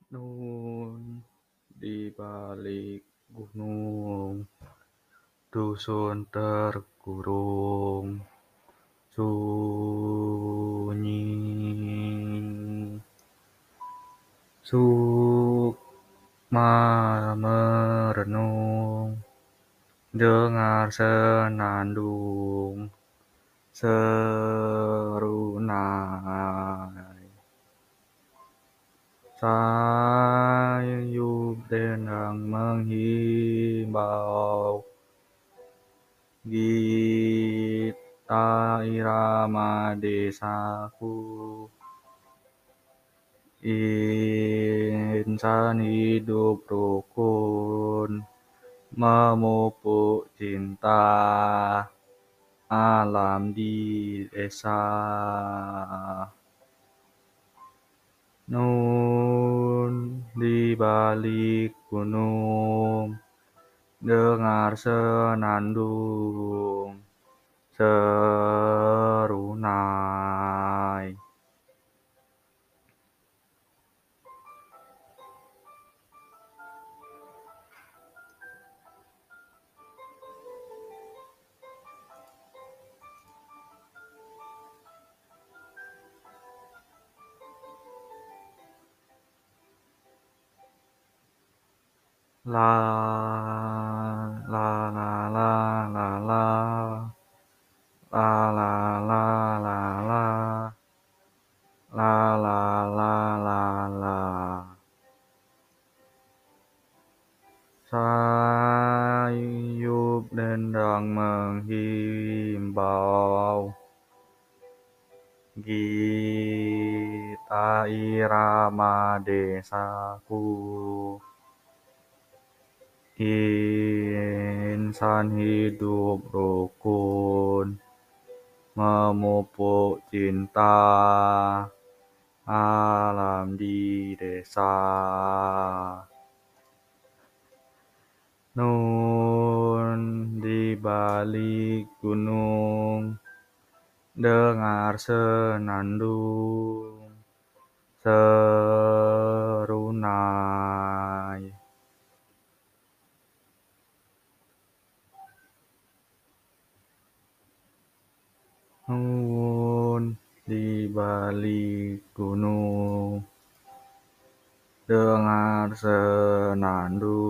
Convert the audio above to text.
Nun di balik gunung, dusun terkurung, sunyi. Sukma merenung, dengar senandung, serunai. Sayup dendang menghimbau, gita irama desaku. Insan hidup rukun, memupuk cinta alam di desa. Nun di balik gunung, dengar senandung, serunai. La la la la la la la la la la la la la la la la. Sayup dendang menghimbau, gita irama desaku. Insan hidup rukun, memupuk cinta alam di desa. Nun di balik gunung, dengar senandung, serunai. Nun di balik gunung, dengar senandung.